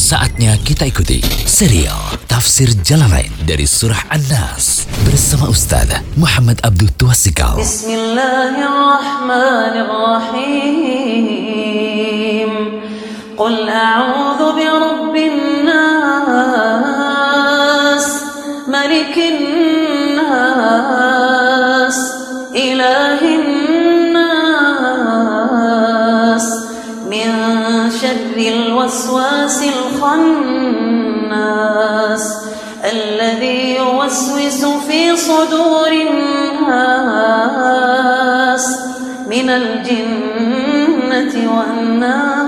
Saatnya kita ikuti serial Tafsir Jalalain dari Surah An-Nas bersama Ustaz Muhammad Abdul Tuasikal. Bismillahirrahmanirrahim. Qul a'udzu birabbin nas, malikin nas, ilahin nas, min syarril waswasil khannas, alladzi yuwaswisu fi sudurin nas, minal jinnati wan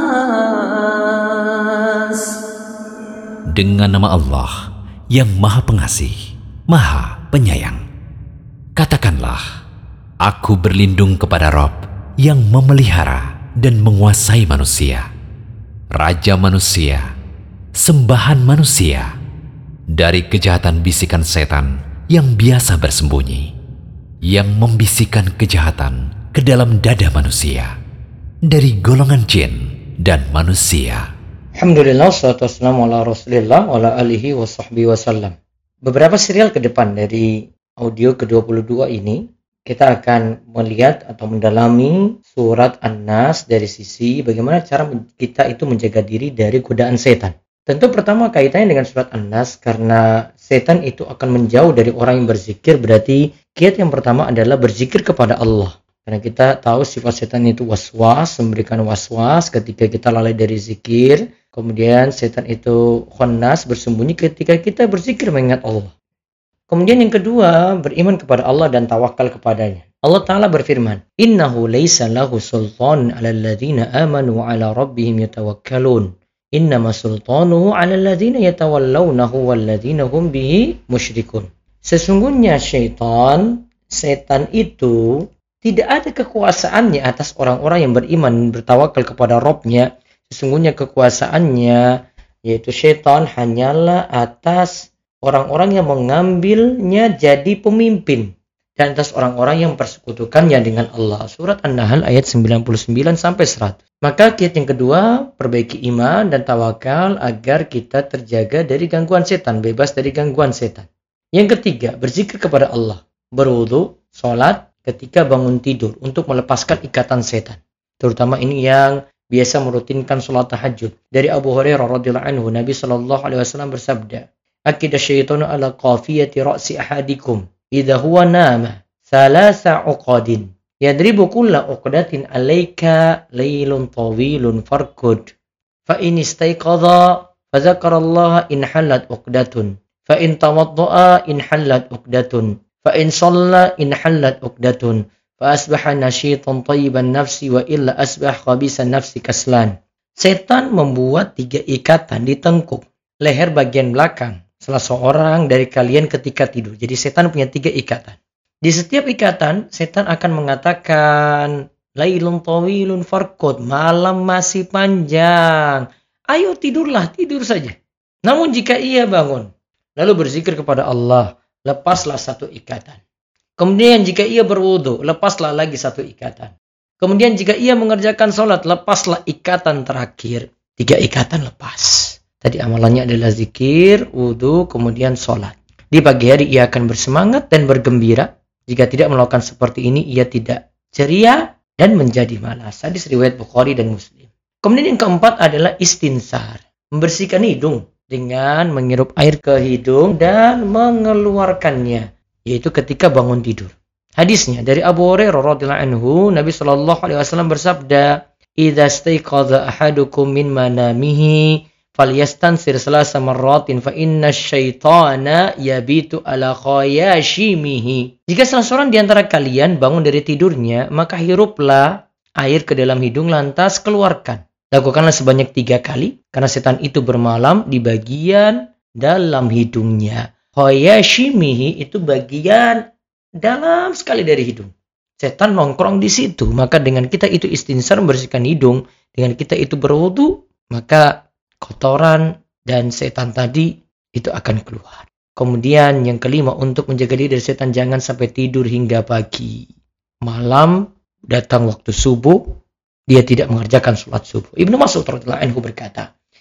nas. Dengan nama Allah yang Maha Pengasih, Maha Penyayang. Katakanlah, aku berlindung kepada Rabb yang memelihara dan menguasai manusia, Raja manusia, sembahan manusia, dari kejahatan bisikan setan yang biasa bersembunyi, yang membisikkan kejahatan ke dalam dada manusia, dari golongan jin dan manusia. Alhamdulillah, wassalatu wassalamu ala rasulillah wa ala alihi wa sahbihi wasallam. Beberapa serial ke depan dari audio ke-22 ini, kita akan melihat atau mendalami surat An-Nas dari sisi bagaimana cara kita itu menjaga diri dari godaan setan. Tentu pertama kaitannya dengan surat An-Nas, karena setan itu akan menjauh dari orang yang berzikir. Berarti kiat yang pertama adalah berzikir kepada Allah. Karena kita tahu sifat setan itu waswas, memberikan waswas ketika kita lalai dari zikir. Kemudian setan itu khannas, bersembunyi ketika kita berzikir mengingat Allah. Kemudian yang kedua, beriman kepada Allah dan tawakal kepadanya. Allah Ta'ala berfirman, Innahu laysa lahu sultan ala alladhina amanu wa ala rabbihim yatawakkalun. Innama sultanuhu ala alladhina yatawallawnahu walladhina hum bihi musyrikun. Sesungguhnya setan itu tidak ada kekuasaannya atas orang-orang yang beriman bertawakal kepada Rabbnya. Sesungguhnya kekuasaannya, yaitu setan, hanyalah atas orang-orang yang mengambilnya jadi pemimpin dan atas orang-orang yang persekutukannya dengan Allah. Surat An-Nahl ayat 99-100. Maka kiat yang kedua, perbaiki iman dan tawakal agar kita terjaga dari gangguan setan, bebas dari gangguan setan. Yang ketiga, berzikir kepada Allah, berwudu, sholat ketika bangun tidur untuk melepaskan ikatan setan. Terutama ini yang biasa merutinkan sholat tahajud. Dari Abu Hurairah radhiyallahu anhu, Nabi SAW bersabda, Akidah syaitanu ala qafiyati ra'si ahadikum idha huwa nama thalatha uqadin yadribu kulla uqdatin alayka laylun tawilun farkud fa in istayqadha fa dzakarallaha in halat uqdatun fa in tawadda'a in halat uqdatun fa in shalla in halat uqdatun fa asbaha nashitan tayyiban nafsi wa illa asbah khabisan nafsi kaslan. Setan membuat 3 ikatan di tengkuk leher bagian belakang salah seorang dari kalian ketika tidur. Jadi setan punya 3 ikatan. Di setiap ikatan, setan akan mengatakan, Lailun tawilun farqud, malam masih panjang. Ayo tidurlah, tidur saja. Namun jika ia bangun, lalu berzikir kepada Allah, lepaslah 1 ikatan. Kemudian jika ia berwudu, lepaslah lagi 1 ikatan. Kemudian jika ia mengerjakan sholat, lepaslah ikatan terakhir. 3 ikatan lepas. Tadi amalannya adalah zikir, wudu, kemudian sholat. Di pagi hari ia akan bersemangat dan bergembira. Jika tidak melakukan seperti ini, ia tidak ceria dan menjadi malas. Hadis riwayat Bukhari dan Muslim. Kemudian yang keempat adalah istinsar. Membersihkan hidung dengan menghirup air ke hidung dan mengeluarkannya, yaitu ketika bangun tidur. Hadisnya dari Abu Hurairah radhiyallahu anhu, Nabi SAW bersabda, Idza staiqadha ahadukum min manamihi falyastansir salasa marratin fa inna syaitana yabitu ala khayashimihi. Jika salah seorang di antara kalian bangun dari tidurnya, maka hiruplah air ke dalam hidung lantas keluarkan. Lakukanlah sebanyak 3 kali, karena setan itu bermalam di bagian dalam hidungnya. Khayashimihi itu bagian dalam sekali dari hidung. Setan nongkrong di situ. Maka dengan kita itu istinsar membersihkan hidung, dengan kita itu berwudu, maka kotoran dan setan tadi itu akan keluar. Kemudian yang kelima, untuk menjaga diri dari setan, jangan sampai tidur hingga pagi. Malam datang waktu subuh, dia tidak mengerjakan sholat subuh. Ibnu Mas'ud radhiyallahu anhu berkata,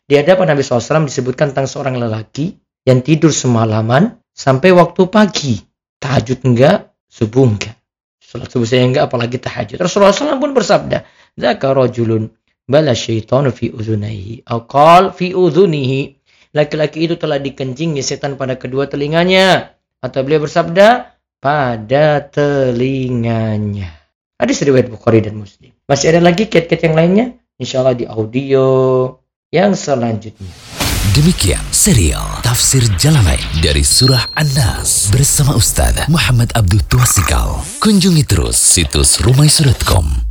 Di hadapan Nabi SAW disebutkan tentang seorang lelaki yang tidur semalaman sampai waktu pagi. Tahajud enggak, subuh enggak. Salat subuh saya enggak, apalagi tahajud. Rasulullah SAW pun bersabda, "Dzaka rajulun bala syaitanu fi udhunaihi." Aqal fi udhunihi. Laki-laki itu telah dikencingi setan pada kedua telinganya. Atau beliau bersabda, pada telinganya. Hadis riwayat Bukhari dan Muslim. Masih ada lagi kiat-kiat yang lainnya? Insyaallah di audio yang selanjutnya. Demikian serial Tafsir Jalalain dari Surah An-Nas bersama Ustaz Muhammad Abdul Tuasikal. Kunjungi terus situs rumaiso.com.